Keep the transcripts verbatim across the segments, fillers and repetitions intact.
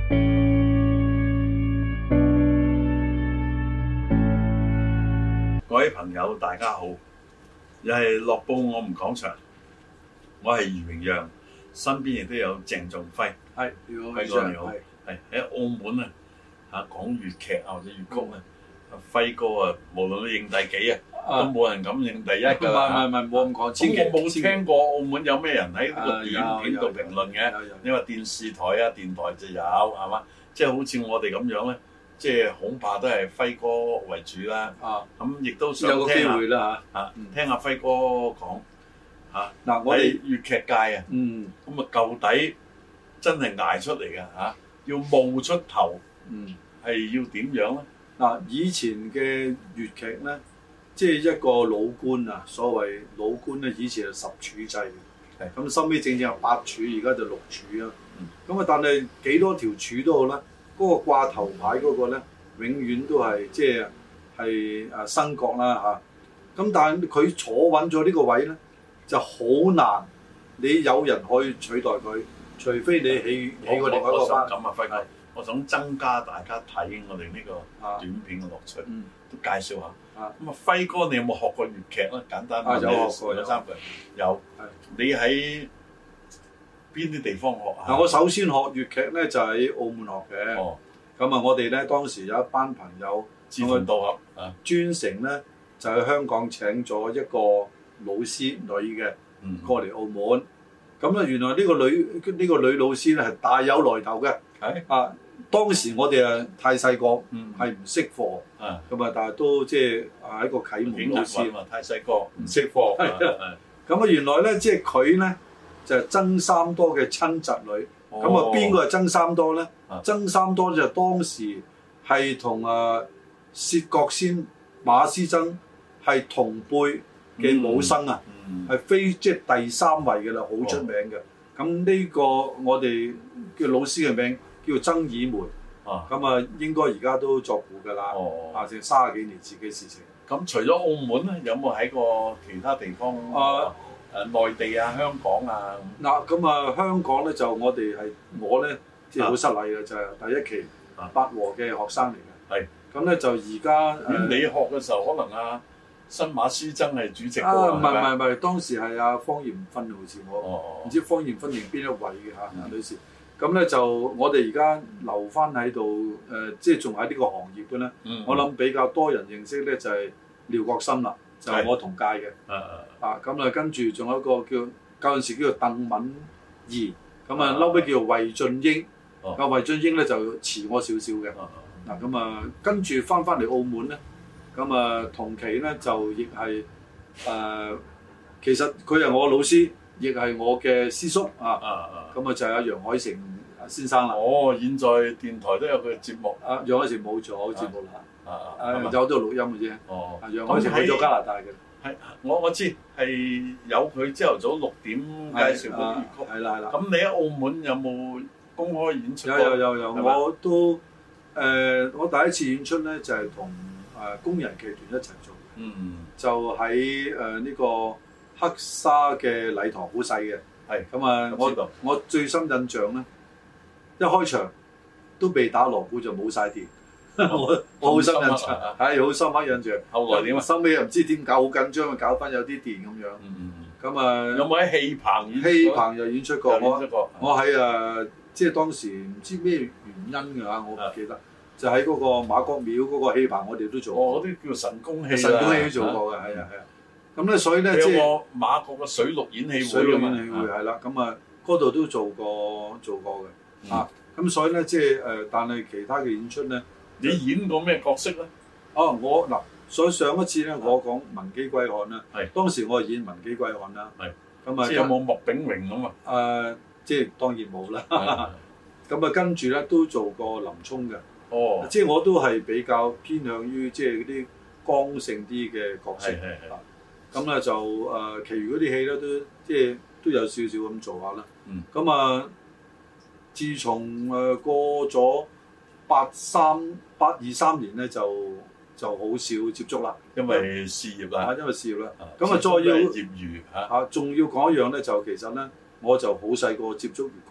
各位朋友，大家好，又係樂報我們講場，我係余榮陽，身邊亦都有鄭仲輝。 係， 輝哥你好。係喺澳門啊，嚇講粵劇啊或者粵曲啊，輝哥啊，無論你認第幾啊，都冇人敢認第一㗎啦。 唔係唔係，冇咁講。千祈我冇聽過澳門有咩人喺呢個短片度評論嘅。你話電視台啊、電台就有係嘛？即係好似我哋咁樣咧。即係恐怕都係輝哥為主啦，咁亦都想聽下有個機會啦嚇，嚇聽下輝哥講嚇。嗱，我哋粵劇界啊，咁啊舊底真係捱出嚟嘅嚇，要冒出頭，係要點樣咧？ 嗱，以前嘅粵劇咧，即係一個老官啊，所謂老官咧，以前係十柱制嘅，咁收尾正正係八柱，而家就六柱啊。咁啊，但係幾多條柱都好啦。嗰個掛頭牌嗰個咧，永遠都係即係係誒新角啦嚇。咁但係佢坐穩咗呢個位咧，就好難。你有人可以取代佢，除非你起起個另外一個班。 咁啊，輝哥，我想增加大家睇我哋呢個短片嘅樂趣，都介紹下。咁啊，輝哥，你有冇學過粵劇咧？簡單啲， 有學過兩三句。有。你喺邊啲地方學啊？ 嗱，我首先學粵劇咧就喺澳門學嘅。哦。咁啊，我哋咧當時有一班朋友志同道合啊， 專程咧就喺香港請咗一個老師女嘅過嚟澳門。咁咧原來呢個女呢個女老師咧係大有來頭嘅。係啊，當時我哋啊太細個，係唔識貨。啊。咁啊，但係都即係啊一個啟蒙老師。 太細個唔識貨。係啊。咁啊，原來咧即係佢咧。就係曾三多嘅親侄女，咁啊邊個係曾三多咧？啊、曾三多就當時係同啊薛覺先、馬師曾係同輩嘅武生啊，係、嗯、非即係、就是、第三位嘅啦，好出名嘅。咁呢、哦、個我哋嘅老師嘅名叫曾以梅，咁啊應該而家都作古㗎啦，啊成三十幾年前嘅事情。 咁除咗澳門咧，有冇喺過其他地方？啊誒內地啊，香港啊， 嗱咁啊，香港咧就我哋係我咧，即係好失禮嘅，就係第一期八和嘅學生嚟嘅。係咁咧就而家咁你學嘅時候，可能啊新馬師曾係主席喎， 啊唔係唔係唔係，當時係阿方艷芬好似我，唔知方艷芬定邊一位嘅嚇女士。咁咧就我哋而家留翻喺度誒，即係仲喺呢個行業嘅咧。我諗比較多人認識咧就係廖國森啦。就係我同屆嘅，啊咁啊跟住仲有一個叫嗰陣時叫做鄧敏儀，咁啊嬲尾叫做魏俊英，啊魏俊英咧就遲我少少嘅，嗱咁啊跟住翻翻嚟澳門咧，咁啊同期咧就亦係誒，其實佢係我老師，亦係我嘅師叔啊，咁啊就係阿楊海成先生啦。 哦，現在電台都有佢嘅節目， 啊楊海成冇咗節目啦。啊！有咗錄音嘅啫。哦，楊海成去咗加拿大嘅。 係，我我知係有佢朝頭早六點介紹嗰啲粵曲。係啦係啦。咁你喺澳門有冇公開演出？ 有有有有，我都誒，我第一次演出咧就係同誒工人劇團一齊做。嗯。就喺誒呢個黑沙嘅禮堂好細嘅。係。咁啊，我我最深印象咧，一開場都被打鑼鼓就冇晒電。我我好深印象，係好深刻印象。後來點啊？收尾又唔知點搞，好緊張，搞翻有啲電咁樣。咁啊， 有冇喺戲棚演？ 戲棚又演出過。我我喺誒，即係當時唔知咩原因㗎嚇，我唔記得。就喺嗰個馬國廟嗰個戲棚，我哋都做過。 哦，嗰啲叫神功戲。 神功戲都做過嘅，係啊係啊。咁咧，所以咧即係馬國嘅水陸演戲會。 水陸演戲會係啦，咁啊嗰度都做過做過嘅。啊，咁所以咧即係誒，但係其他嘅演出咧。 你演過咩角色咧？ 哦，我嗱，所以上一次咧，我講文姬歸漢啦。係。當時我係演文姬歸漢啦。係。咁啊， 即係有冇麥炳榮咁啊？ 誒，即係當然冇啦。咁啊，跟住咧都做過林沖嘅。哦。即係我都係比較偏向於即係嗰啲剛性啲嘅角色。係係係。咁咧就誒，其餘嗰啲戲咧都即係都有少少咁做下啦。嗯。咁啊，自從誒過咗八三八二三年咧就就好少接觸啦， 因為事業啦， 因為事業啦。咁啊，再要業餘嚇， 仲要講一樣咧，就其實咧，我就好細個接觸粵曲嘅。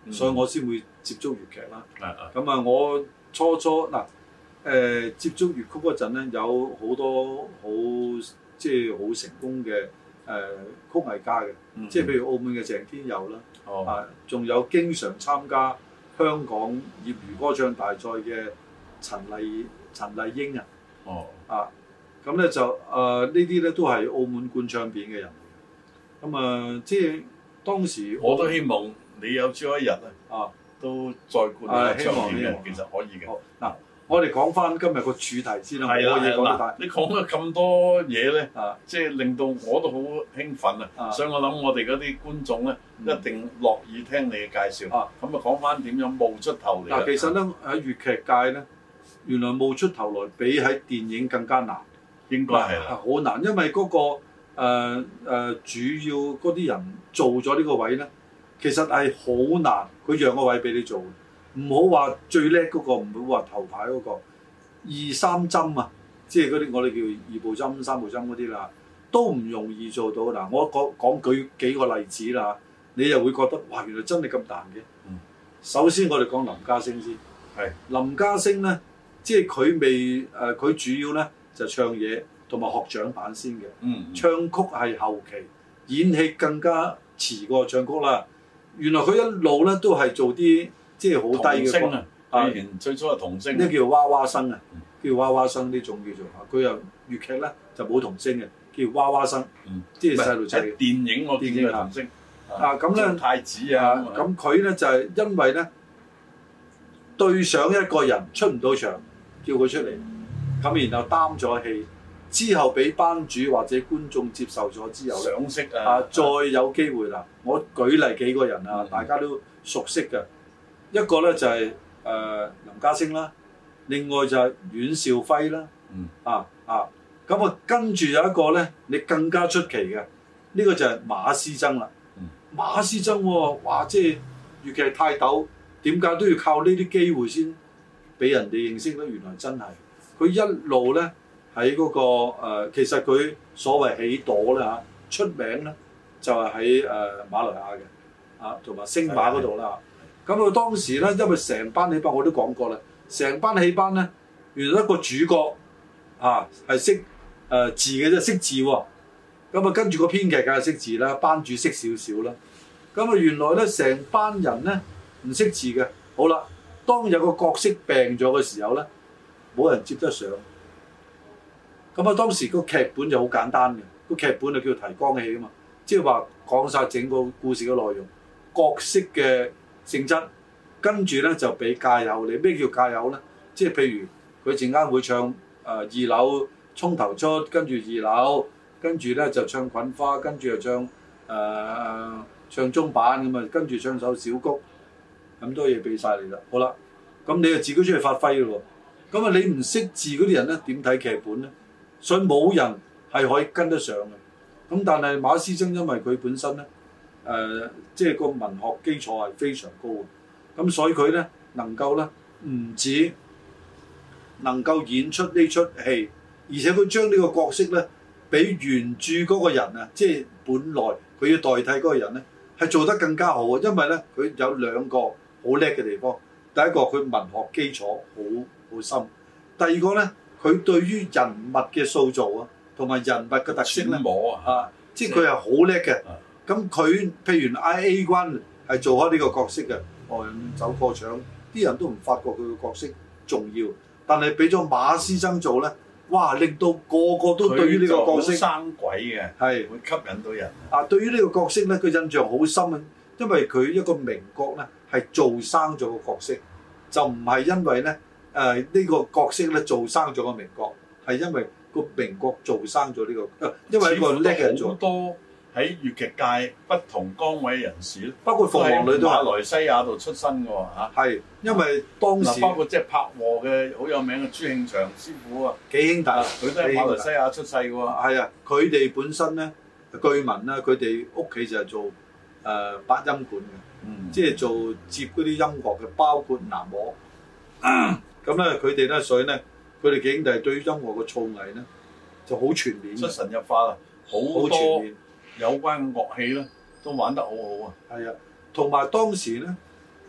嗯、所以我先會接觸粵劇啦。咁啊、 嗯， 我初初嗱誒、呃、接觸粵曲嗰陣咧，有好多好即係好成功嘅誒、呃、曲藝家嘅，嗯、即係譬如澳門嘅鄭天佑啦，哦、啊，仲有經常參加香港業餘歌唱大賽嘅陳麗陳麗英啊，哦，啊，咁咧就誒、呃、呢啲咧都係澳門灌唱片嘅人嚟嘅，咁啊、呃、即係當時我， 我都希望你有朝一日啊，啊都再灌唱片嘅，其實可以嘅。 嗱，我哋講翻今日個主題先啦， 係啦係啦，你講咗咁多嘢咧，即係令到我都好興奮啊！所以我諗我哋嗰啲觀眾咧，一定樂意聽你嘅介紹。咁啊，講翻點樣冒出頭嚟？ 嗱，其實咧喺粵劇界咧，原來冒出頭來比喺電影更加難， 應該係啦， 好難，因為嗰個誒誒主要嗰啲人做咗呢個位咧，其實係好難，佢讓個位俾你做。唔好話最叻嗰個，唔好話頭牌嗰個，二三針啊，即係嗰啲我哋叫二步針、三步針嗰啲啦，都唔容易做到。嗱，我講講舉幾個例子啦，你又會覺得哇，原來真係咁難嘅。嗯、首先我哋講林家聲先，係是林家聲咧，即係佢未誒，佢、呃、主要咧就唱嘢同埋學掌板先嘅，嗯嗯、唱曲係後期，演戲更加遲過唱曲啦。原來佢一路咧都係做啲。即係好低嘅歌啊！以前最初係童聲， 呢叫娃娃聲啊，叫娃娃聲呢種叫做嚇。佢又粵劇咧就冇童聲嘅，叫娃娃聲。嗯，即係細路仔。 喺電影我見嘅童聲啊，咁咧太子啊， 咁佢咧就係因為咧對上一個人出唔到場，叫佢出嚟，咁然後擔咗戲，之後俾班主或者觀眾接受咗之後， 賞識啊， 再有機會啦。我舉例幾個人啊，大家都熟悉嘅。一個咧就係、是、誒、呃、林家聲啦，另外就係阮兆輝啦，嗯、啊啊咁啊跟住有一個咧，你更加出奇嘅，呢、這個就係馬師曾啦。嗯、馬師曾喎、哦，哇！即係粵劇泰斗，點解都要靠呢啲機會先俾人哋認識咧？原來真係佢一路咧喺嗰個、呃、其實佢所謂起朵咧嚇出名咧，就係喺誒馬來亞嘅啊，同埋星馬嗰度啦。咁佢當時咧，因為成班戲班我都講過啦，成班戲班咧，原來一個主角啊係識誒字嘅啫，識字喎。咁啊跟住個編劇梗係識字啦，班主識少少啦。咁啊原來咧成班人咧唔識字嘅。好啦，當有個角色病咗嘅時候咧，冇人接得上。咁啊當時個劇本就好簡單嘅，個劇本就叫提綱戲啊嘛，即係話講晒整個故事嘅內容，角色嘅性質，跟住咧就俾介友你。咩叫介友咧？即係譬如佢陣間會唱誒、呃、二樓衝頭出，跟住二樓，跟住咧就唱滾花，跟住又唱誒、呃、唱中板咁啊，跟住唱首小谷，咁多嘢俾晒你啦。好啦，咁你就自己出去發揮咯。咁啊，你唔識字嗰啲人咧點睇劇本咧？所以冇人係可以跟得上嘅。咁但係馬師曾因為佢本身咧。誒、呃，即係個文學基礎係非常高嘅，咁所以佢咧能夠咧唔止能夠演出呢出戲，而且佢將呢個角色咧比原著嗰個人啊，即係本來佢要代替嗰個人咧，係做得更加好啊！因為咧佢有兩個好叻嘅地方，第一個佢文學基礎好好深，第二個咧佢對於人物嘅塑造啊，同埋人物嘅特色咧啊，即係佢係好叻嘅。咁佢譬如 I A 關係做開呢個角色嘅，哦走過場，啲人都唔發覺佢個角色重要，但係俾咗馬師曾做咧，哇！令到個個都對於呢個角色生鬼嘅，係是會吸引到人。 啊，對於呢個角色咧，佢印象好深啊，因為佢一個名角咧係做生咗個角色，就唔係因為咧誒呢、呃呢個角色咧做生咗個名角，係因為個名角做生咗呢、呢個，因為一個叻嘅人做。 喺粵劇界不同崗位人士咧， 包括鳳凰女都係馬來西亞度出身嘅喎嚇。係， 因為當時包括即係拍和嘅好有名嘅朱慶祥師傅啊， 幾兄弟， 佢都係馬來西亞出世嘅喎。 係啊，佢哋本身咧，據聞啦，佢哋屋企就係做誒八音館嘅，嗯、即係做接嗰啲音樂嘅，包括南鑼。咁咧，佢哋咧，所以咧，佢哋幾兄弟對於音樂嘅造詣咧就好全面， 出神入化啦，好全面。有關樂器咧都玩得好好啊！ 係啊，同埋當時咧，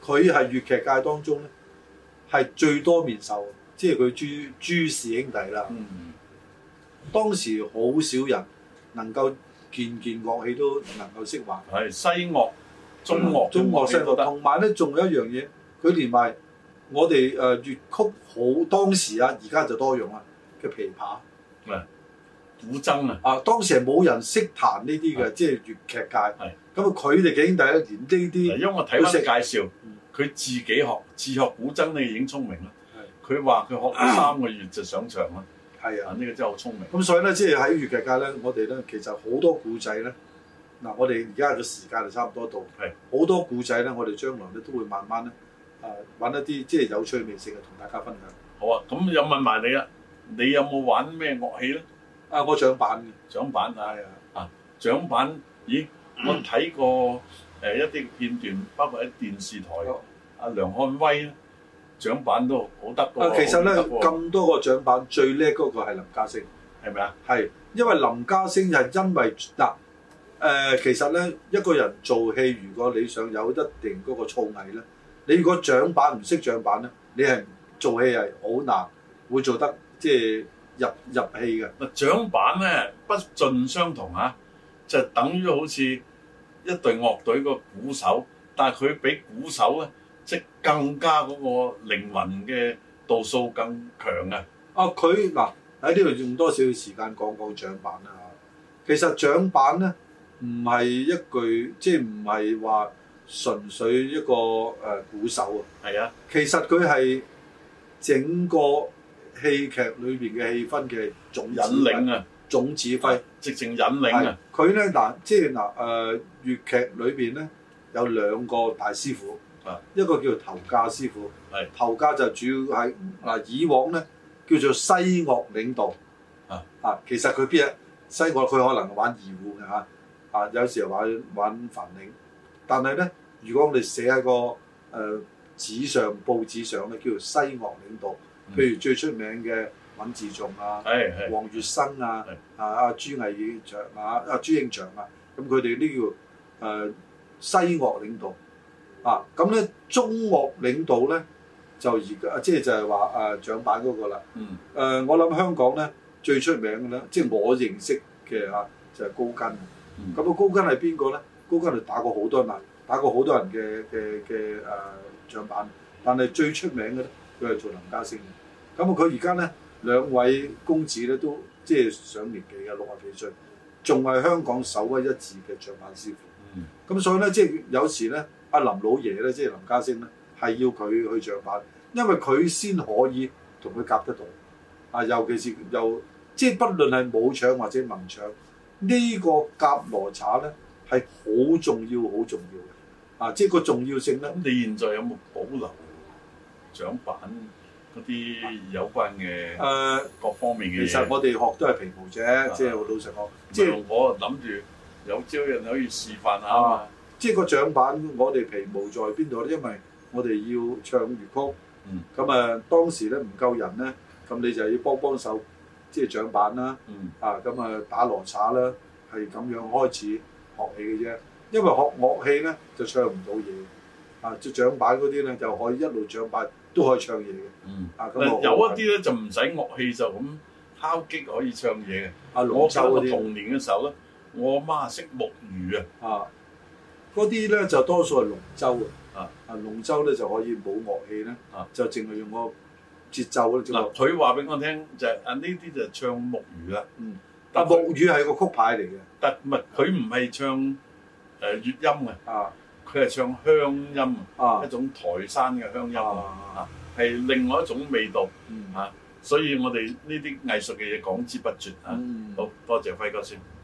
佢係粵劇界當中咧係最多面授，即係佢朱朱氏兄弟啦。嗯，當時好少人能夠件件樂器都能夠識玩。 係西樂、中樂、 中樂西樂，同埋咧仲有一樣嘢，佢連埋我哋誒粵曲好當時啊，而家就多用啦嘅琵琶。 係古箏啊！ 啊，當時係冇人識彈呢啲嘅，即係粵劇界。係咁啊，佢哋幾兄弟咧，連呢啲， 因為我睇翻介紹，佢自己學自學古箏，你已經聰明啦。佢話佢學咗三個月就上場啦。係啊，呢個真係好聰明。咁所以咧，即係喺粵劇界咧，我哋咧其實好多古仔咧。嗱，我哋而家嘅時間就差唔多到。係好多古仔咧，我哋將來咧都會慢慢咧啊揾一啲即係有趣味性嘅同大家分享。好啊，咁又問埋你啦，你有冇玩咩樂器咧？啊！我掌板嘅掌板啊，啊掌板，咦？我睇過誒一啲片段，包括喺電視台，阿梁漢威咧掌板都好得嘅。啊，其實咧咁多個掌板，最叻嗰個係林家聲，係咪啊？係，因為林家聲係因為嗱誒，其實咧一個人做戲，如果你想有一定嗰個造詣咧，你如果掌板唔識掌板咧，你係做戲係好難會做得即係。入入戲嘅嗱，掌板咧不盡相同啊，就等於好似一隊樂隊個鼓手，但係佢比鼓手咧即係更加嗰個靈魂嘅度數更強啊！啊，佢嗱喺呢度用多少時間講講掌板啦嚇。其實掌板咧唔係一句，即係唔係話純粹一個誒、呃、鼓手啊。係啊，其實佢係整個戲劇裏邊嘅氣氛嘅總引領啊，總指揮，直情引領啊！佢咧嗱，即係嗱誒粵劇裏邊咧有兩個大師傅，啊，一個叫頭架師傅，係頭架就主要係嗱以往咧叫做西樂領導，啊啊，其實佢邊啊西樂佢可能玩二胡嘅嚇，啊有時候玩玩梵鈴，但係咧如果我哋寫喺個誒、呃、紙上報紙上咧叫做西樂領導。譬如最出名嘅尹自重啊，黃月生啊，啊阿朱毅祥啊，阿朱應祥啊，咁佢哋呢叫誒西樂領導啊。咁咧中樂領導咧就而家即係就係話誒掌板嗰個啦。誒、嗯呃、我諗香港咧最出名嘅咧，即係我認識嘅嚇就係、是、高根。咁啊、嗯、高根係邊個咧？高根係打過好多人，打過好多人嘅嘅嘅誒掌板，但係最出名嘅咧，佢係做林家聲嘅。咁啊！佢而家咧兩位公子咧都即係上年紀嘅六十幾歲，仲係香港首屈一指嘅掌板師傅。咁、嗯、所以咧，即係有時咧，阿林老爺咧，即係林家聲咧，係要佢去掌板，因為佢先可以同佢夾得到。啊，尤其是又即係不論係武場或者文場，呢、這個夾羅查咧係好重要、好重要嘅。啊，即係個重要性咧。咁你現在有冇保留掌板嗰啲有關嘅誒各方面嘅嘢？其實我哋學都係皮毛啫，即係老實講。即係我諗住有朝人可以示範下啊嘛。即係個掌板，我哋皮毛在邊度咧？因為我哋要唱粵曲，咁啊當時咧唔夠人咧，咁你就要幫幫手，即係掌板啦，啊咁啊打羅剎啦，係咁樣開始學戲嘅啫。因為學樂器咧就唱唔到嘢，啊即係掌板嗰啲咧就可以一路掌板。都可以唱嘢嘅，嗯，啊咁有一啲咧就唔使樂器就咁敲擊可以唱嘢嘅。啊，龍舟嗰啲。我童年嘅時候咧，我阿媽識木魚啊，啊，嗰啲咧就多數係龍舟啊，啊龍舟咧就可以冇樂器咧，啊就淨係用個節奏咧。嗱，佢話俾我聽就係啊呢啲就唱木魚啦，嗯，但木魚係個曲牌嚟嘅，但唔係佢唔係唱誒粵音嘅，啊。佢係唱鄉音啊，一種台山嘅鄉音啊，係另外一種味道啊，所以我哋呢啲藝術嘅嘢講之不絕啊。好多謝輝哥先。